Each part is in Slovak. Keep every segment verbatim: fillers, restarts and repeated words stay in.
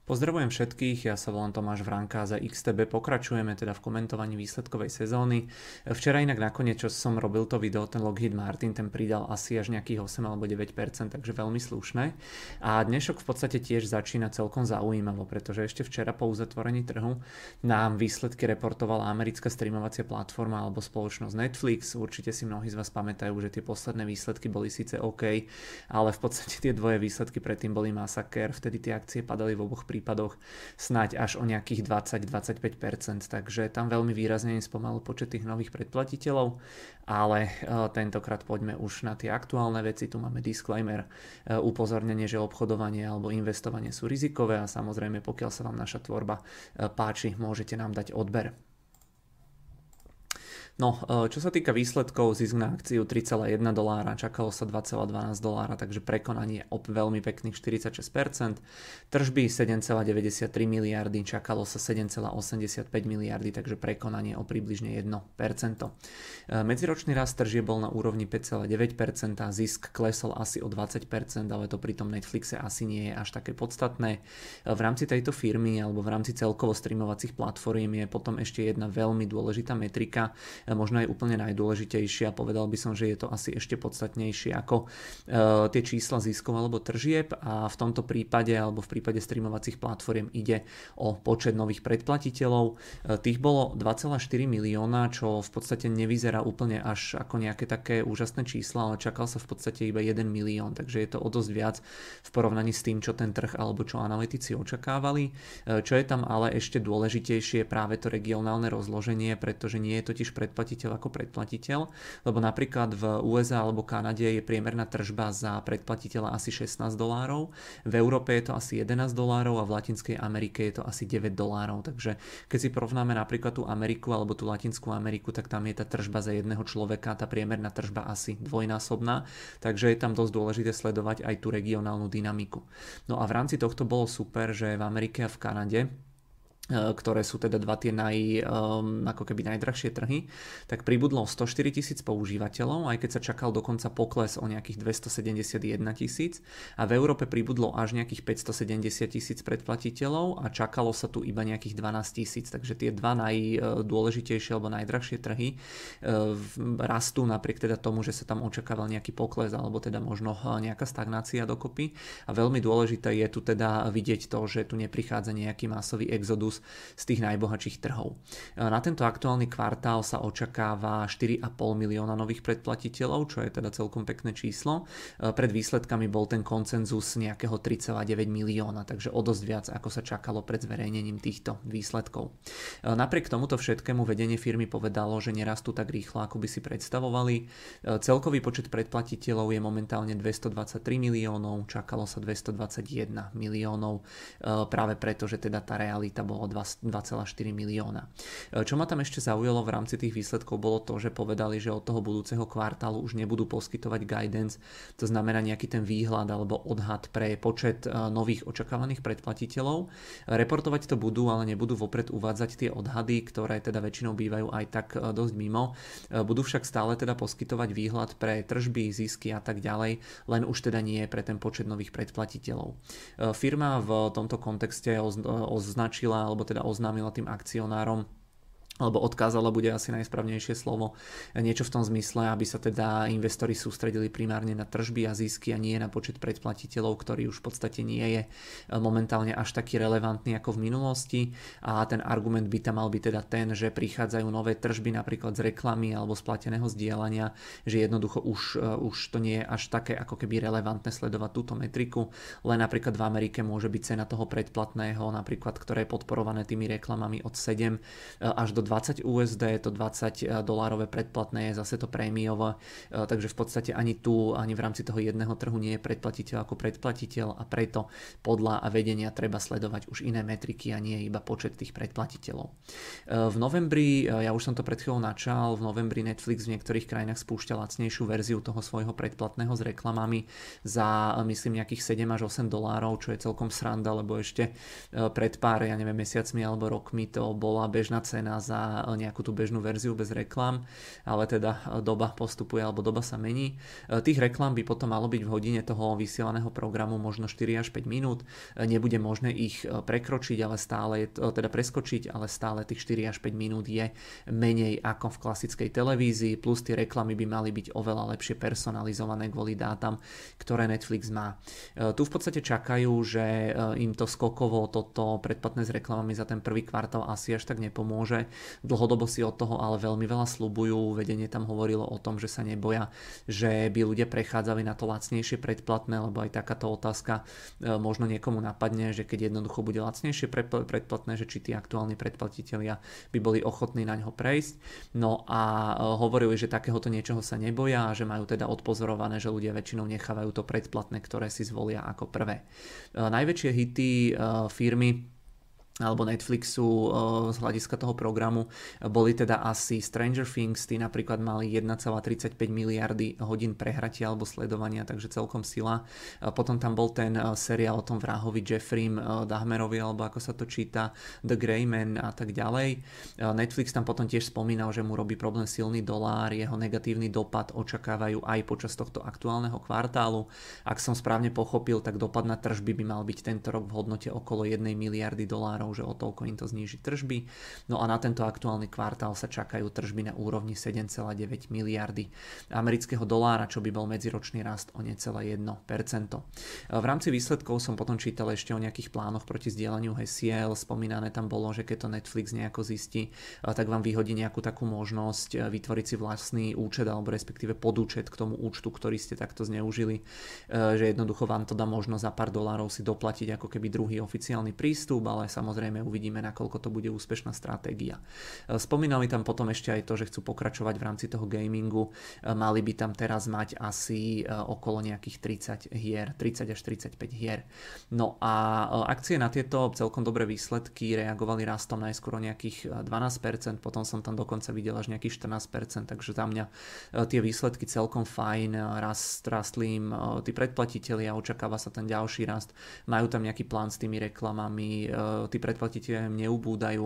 Pozdravujem všetkých, ja sa volám Tomáš Vránka a za iks té bé pokračujeme teda v komentovaní výsledkovej sezóny. Včera inak nakoniec, čo som robil to video, ten Lockheed Martin, ten pridal asi až nejakých osem alebo deväť percent, takže veľmi slušné. A dnešok v podstate tiež začína celkom zaujímavo, pretože ešte včera po uzatvorení trhu nám výsledky reportovala americká streamovacia platforma alebo spoločnosť Netflix. Určite si mnohí z vás pamätajú, že tie posledné výsledky boli síce OK, ale v podstate tie dvoje výsledky predtým boli masaker, vtedy tie akcie padali v oboch prípadoch snáď až o nejakých dvadsať až dvadsaťpäť percent, takže tam veľmi výrazne im spomalil počet tých nových predplatiteľov, ale tentokrát poďme už na tie aktuálne veci. Tu máme disclaimer, upozornenie, že obchodovanie alebo investovanie sú rizikové a samozrejme pokiaľ sa vám naša tvorba páči, môžete nám dať odber. No, čo sa týka výsledkov, zisk na akciu tri celá jeden dolára, čakalo sa dva celá dvanásť dolára, takže prekonanie o veľmi pekných štyridsaťšesť percent. Tržby sedem celá deväťdesiattri miliardy, čakalo sa sedem celá osemdesiatpäť miliardy, takže prekonanie o približne jedno percento. Medziročný rast tržieb bol na úrovni päť celá deväť percent a zisk klesol asi o dvadsať percent, ale to pri tom Netflixe asi nie je až také podstatné. V rámci tejto firmy alebo v rámci celkovo streamovacích platform je potom ešte jedna veľmi dôležitá metrika, možno aj úplne najdôležitejšia, povedal by som, že je to asi ešte podstatnejšie ako e, tie čísla ziskov alebo tržieb, a v tomto prípade alebo v prípade streamovacích platform ide o počet nových predplatiteľov. E, tých bolo dva celá štyri milióna, čo v podstate nevyzerá úplne až ako nejaké také úžasné čísla, ale čakal sa v podstate iba jeden milión, takže je to o dosť viac v porovnaní s tým, čo ten trh alebo čo analytici očakávali. E, čo je tam ale ešte dôležitejšie, je práve to regionálne rozloženie, pretože nie je totiž pred predplatiteľ ako predplatiteľ, lebo napríklad v ú es á alebo Kanade je priemerná tržba za predplatiteľa asi šestnásť dolárov, v Európe je to asi jedenásť dolárov a v Latinskej Amerike je to asi deväť dolárov, takže keď si porovnáme napríklad tú Ameriku alebo tú Latinskú Ameriku, tak tam je tá tržba za jedného človeka, tá priemerná tržba asi dvojnásobná, takže je tam dosť dôležité sledovať aj tú regionálnu dynamiku. No a v rámci tohto bolo super, že v Amerike a v Kanade, ktoré sú teda dva tie naj, um, ako keby najdrahšie trhy, tak pribudlo stoštyri tisíc používateľov, aj keď sa čakal dokonca pokles o nejakých dvestosedemdesiatjeden tisíc, a v Európe pribudlo až nejakých päťstosedemdesiat tisíc predplatiteľov a čakalo sa tu iba nejakých dvanásť tisíc, takže tie dva najdôležitejšie alebo najdrahšie trhy rastú napriek teda tomu, že sa tam očakával nejaký pokles alebo teda možno nejaká stagnácia dokopy, a veľmi dôležité je tu teda vidieť to, že tu neprichádza nejaký masový exodus z tých najbohatších trhov. Na tento aktuálny kvartál sa očakáva štyri a pol milióna nových predplatiteľov, čo je teda celkom pekné číslo. Pred výsledkami bol ten konsenzus nejakého tri celá deväť milióna, takže o dosť viac, ako sa čakalo pred zverejnením týchto výsledkov. Napriek tomuto všetkému vedenie firmy povedalo, že nerastú tak rýchlo, ako by si predstavovali. Celkový počet predplatiteľov je momentálne dvestodvadsaťtri miliónov, čakalo sa dvestodvadsaťjeden miliónov, práve preto, že teda tá realita bola dva celá štyri milióna. Čo ma tam ešte zaujalo v rámci tých výsledkov, bolo to, že povedali, že od toho budúceho kvartálu už nebudú poskytovať guidance, to znamená nejaký ten výhľad alebo odhad pre počet nových očakávaných predplatiteľov. Reportovať to budú, ale nebudú vopred uvádzať tie odhady, ktoré teda väčšinou bývajú aj tak dosť mimo. Budú však stále teda poskytovať výhľad pre tržby, zisky a tak ďalej, len už teda nie pre ten počet nových predplatiteľov. Firma v tomto kontexte označila alebo teda oznámila tým akcionárom, alebo odkázala bude asi najsprávnejšie slovo, niečo v tom zmysle, aby sa teda investori sústredili primárne na tržby a zisky a nie na počet predplatiteľov, ktorý už v podstate nie je momentálne až taký relevantný ako v minulosti, a ten argument by tam mal byť teda ten, že prichádzajú nové tržby napríklad z reklamy alebo z plateného zdieľania, že jednoducho už, už to nie je až také ako keby relevantné sledovať túto metriku, len napríklad v Amerike môže byť cena toho predplatného, napríklad ktoré je podporované tými reklamami od sedem až do dvadsať ú es dé, to dvadsať dolárové predplatné je zase to prémiové, takže v podstate ani tu, ani v rámci toho jedného trhu nie je predplatiteľ ako predplatiteľ, a preto podľa vedenia treba sledovať už iné metriky a nie iba počet tých predplatiteľov. V novembri, ja už som to pred chvíľou načal, v novembri Netflix v niektorých krajinách spúšťa lacnejšiu verziu toho svojho predplatného s reklamami za, myslím, nejakých sedem až osem dolárov, čo je celkom sranda, lebo ešte pred pár, ja neviem, mesiacmi alebo rokmi to bola bežná cena za za nejakú tú bežnú verziu bez reklám, ale teda doba postupuje alebo doba sa mení. Tých reklám by potom malo byť v hodine toho vysielaného programu možno štyri až päť minút. Nebude možné ich prekročiť, ale stále je, teda preskočiť, ale stále tých štyri až päť minút je menej ako v klasickej televízii, plus tie reklamy by mali byť oveľa lepšie personalizované kvôli dátam, ktoré Netflix má. Tu v podstate čakajú, že im to skokovo toto predplatné s reklamami za ten prvý kvartál asi až tak nepomôže. Dlhodobo si od toho ale veľmi veľa sľubujú. Vedenie tam hovorilo o tom, že sa neboja, že by ľudia prechádzali na to lacnejšie predplatné, lebo aj takáto otázka možno niekomu napadne, že keď jednoducho bude lacnejšie predplatné, že či tí aktuálni predplatitelia by boli ochotní na ňo prejsť. No a hovorili, že takéhoto niečoho sa neboja a že majú teda odpozorované, že ľudia väčšinou nechávajú to predplatné, ktoré si zvolia ako prvé. Najväčšie hity firmy alebo Netflixu z hľadiska toho programu boli teda asi Stranger Things, tí napríklad mali jeden celá tridsaťpäť miliardy hodín prehratia alebo sledovania, takže celkom sila. Potom tam bol ten seriál o tom vrahovi Jeffreym Dahmerovi, alebo ako sa to číta, The Grey Man a tak ďalej. Netflix tam potom tiež spomínal, že mu robí problém silný dolár, jeho negatívny dopad očakávajú aj počas tohto aktuálneho kvartálu. Ak som správne pochopil, tak dopad na tržby by mal byť tento rok v hodnote okolo jednej miliardy dolárov, že o toľko im to zníži tržby. No a na tento aktuálny kvartál sa čakajú tržby na úrovni sedem celá deväť miliardy amerického dolára, čo by bol medziročný rast o necelé jedno percento. V rámci výsledkov som potom čítal ešte o nejakých plánoch proti zdieľaniu hesiel. Spomínané tam bolo, že keď to Netflix nejako zistí, tak vám vyhodí nejakú takú možnosť vytvoriť si vlastný účet alebo respektíve podúčet k tomu účtu, ktorý ste takto zneužili, že jednoducho vám to dá možnosť za pár dolárov si doplatiť ako keby druhý oficiálny prístup, ale samozrejme Samozrejme uvidíme, nakoľko to bude úspešná stratégia. Spomínali tam potom ešte aj to, že chcú pokračovať v rámci toho gamingu. Mali by tam teraz mať asi okolo nejakých tridsať hier, tridsať až tridsaťpäť hier. No a akcie na tieto celkom dobré výsledky reagovali rastom najskôr o nejakých dvanásť percent, potom som tam dokonca videl až nejakých štrnásť percent, takže za mňa tie výsledky celkom fajn, rast, rastli im tí predplatitelia, očakáva sa ten ďalší rast, majú tam nejaký plán s tými reklamami, tí predplatitelia neubúdajú,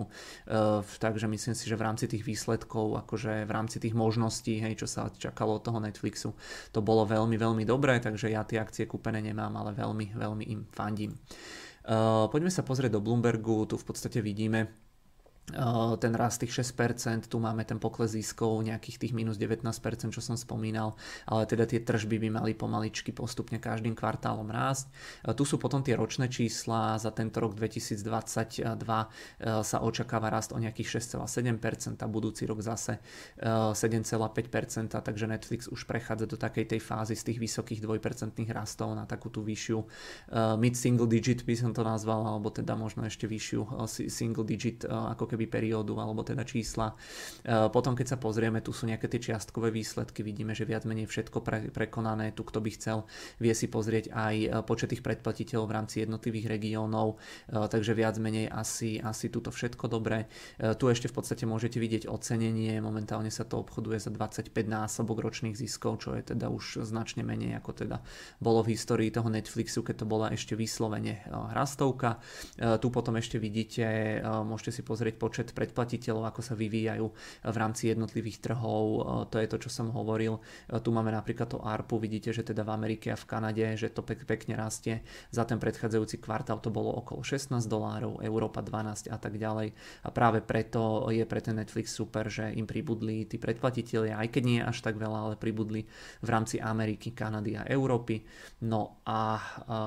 takže myslím si, že v rámci tých výsledkov, akože v rámci tých možností, hej, čo sa čakalo od toho Netflixu, to bolo veľmi, veľmi dobré, takže ja tie akcie kúpené nemám, ale veľmi, veľmi im fandím. Poďme sa pozrieť do Bloombergu, tu v podstate vidíme ten rast tých šesť percent, tu máme ten pokles ziskov nejakých tých minus devätnásť percent, čo som spomínal, ale teda tie tržby by mali pomaličky postupne každým kvartálom rásť. Tu sú potom tie ročné čísla, za tento rok dvetisícdvadsaťdva sa očakáva rast o nejakých šesť celá sedem percent, a budúci rok zase sedem celá päť percent, takže Netflix už prechádza do takej tej fázy z tých vysokých dvojpercentných rastov na takú tú vyššiu mid single digit by som to nazval, alebo teda možno ešte vyššiu single digit ako keby periódu, alebo teda čísla. Potom keď sa pozrieme, tu sú nejaké tie čiastkové výsledky, vidíme, že viac menej všetko pre, prekonané, tu kto by chcel, vie si pozrieť aj počet tých predplatiteľov v rámci jednotlivých regiónov, takže viac menej asi, asi tuto všetko dobré. Tu ešte v podstate môžete vidieť ocenenie, momentálne sa to obchoduje za dvadsaťpäť násobok ročných ziskov, čo je teda už značne menej, ako teda bolo v histórii toho Netflixu, keď to bola ešte vyslovene rastovka. Tu potom ešte vidíte, môžete si pozrieť počet predplatiteľov, ako sa vyvíjajú v rámci jednotlivých trhov. To je to, čo som hovoril. Tu máme napríklad to á er pé u, vidíte, že teda v Amerike a v Kanade, že to pek, pekne rastie. Za ten predchádzajúci kvartál to bolo okolo šestnásť dolárov, Európa dvanásť a tak ďalej. A práve preto je pre ten Netflix super, že im pribudli tí predplatitelia, aj keď nie až tak veľa, ale pribudli v rámci Ameriky, Kanady a Európy. No a, a,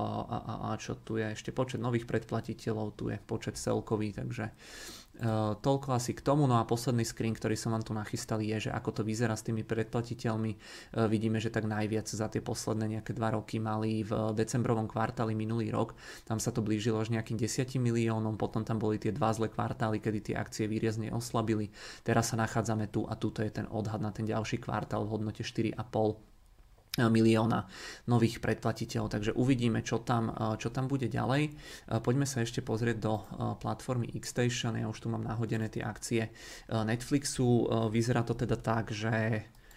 a, a čo tu je? Ešte počet nových predplatiteľov, tu je počet celkový, takže Uh, toľko asi k tomu. No a posledný screen, ktorý som vám tu nachystal, je, že ako to vyzerá s tými predplatiteľmi. Uh, vidíme, že tak najviac za tie posledné nejaké dva roky mali v decembrovom kvartáli minulý rok. Tam sa to blížilo až nejakým desať miliónom, potom tam boli tie dva zlé kvartály, kedy tie akcie výrazne oslabili. Teraz sa nachádzame tu a tuto je ten odhad na ten ďalší kvartál v hodnote štyri a pol milióna nových predplatiteľov, takže uvidíme, čo tam, čo tam bude ďalej. Poďme sa ešte pozrieť do platformy Xstation, ja už tu mám nahodené tie akcie Netflixu, vyzerá to teda tak, že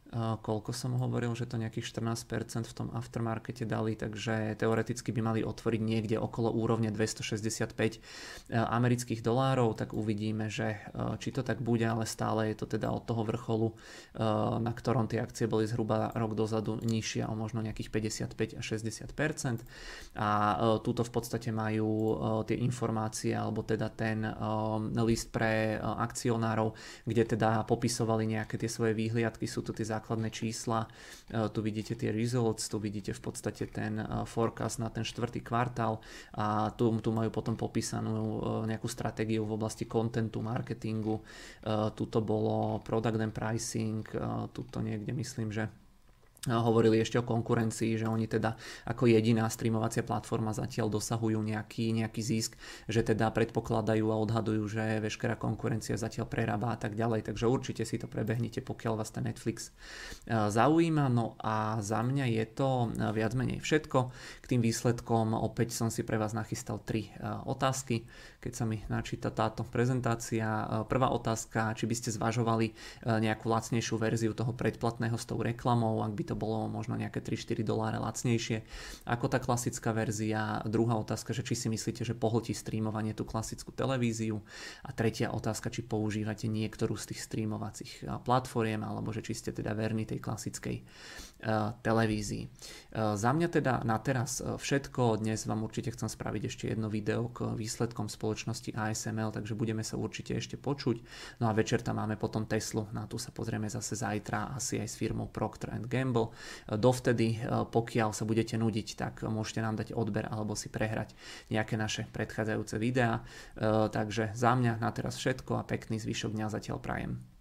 koľko som hovoril, že to nejakých štrnásť percent v tom aftermarkete dali, takže teoreticky by mali otvoriť niekde okolo úrovne dvestošesťdesiatpäť amerických dolárov, tak uvidíme, že či to tak bude, ale stále je to teda od toho vrcholu, na ktorom tie akcie boli zhruba rok dozadu nižšie o možno nejakých päťdesiatpäť až šesťdesiat percent a túto v podstate majú tie informácie alebo teda ten list pre akcionárov, kde teda popisovali nejaké tie svoje výhliadky, sú tu tie základné čísla, tu vidíte tie results, tu vidíte v podstate ten forecast na ten štvrtý kvartál a tu, tu majú potom popísanú nejakú stratégiu v oblasti contentu, marketingu, tuto bolo product and pricing, tuto niekde myslím, že hovorili ešte o konkurencii, že oni teda ako jediná streamovacia platforma zatiaľ dosahujú nejaký, nejaký zisk, že teda predpokladajú a odhadujú, že veškerá konkurencia zatiaľ prerába a tak ďalej, takže určite si to prebehnite, pokiaľ vás ten Netflix zaujíma. No a za mňa je to viac menej všetko. K tým výsledkom opäť som si pre vás nachystal tri otázky, keď sa mi načíta táto prezentácia. Prvá otázka, či by ste zvažovali nejakú lacnejšiu verziu toho predplatného s tou reklamou, ak by to bolo možno nejaké tri štyri doláre lacnejšie ako tá klasická verzia. Druhá otázka, že či si myslíte, že pohltí streamovanie tú klasickú televíziu. A tretia otázka, či používate niektorú z tých streamovacích platform, alebo že či ste teda verní tej klasickej uh, televízii. Uh, za mňa teda na teraz všetko. Dnes vám určite chcem spraviť ešte jedno video k výsledkom spoločnosti á es em el, takže budeme sa určite ešte počuť. No a večer tam máme potom Teslu, na tú sa pozrieme zase zajtra, asi aj s firmou Procter and Gamble. Dovtedy, pokiaľ sa budete nudiť, tak môžete nám dať odber alebo si prehrať nejaké naše predchádzajúce videá. Takže za mňa na teraz všetko a pekný zvyšok dňa zatiaľ prajem.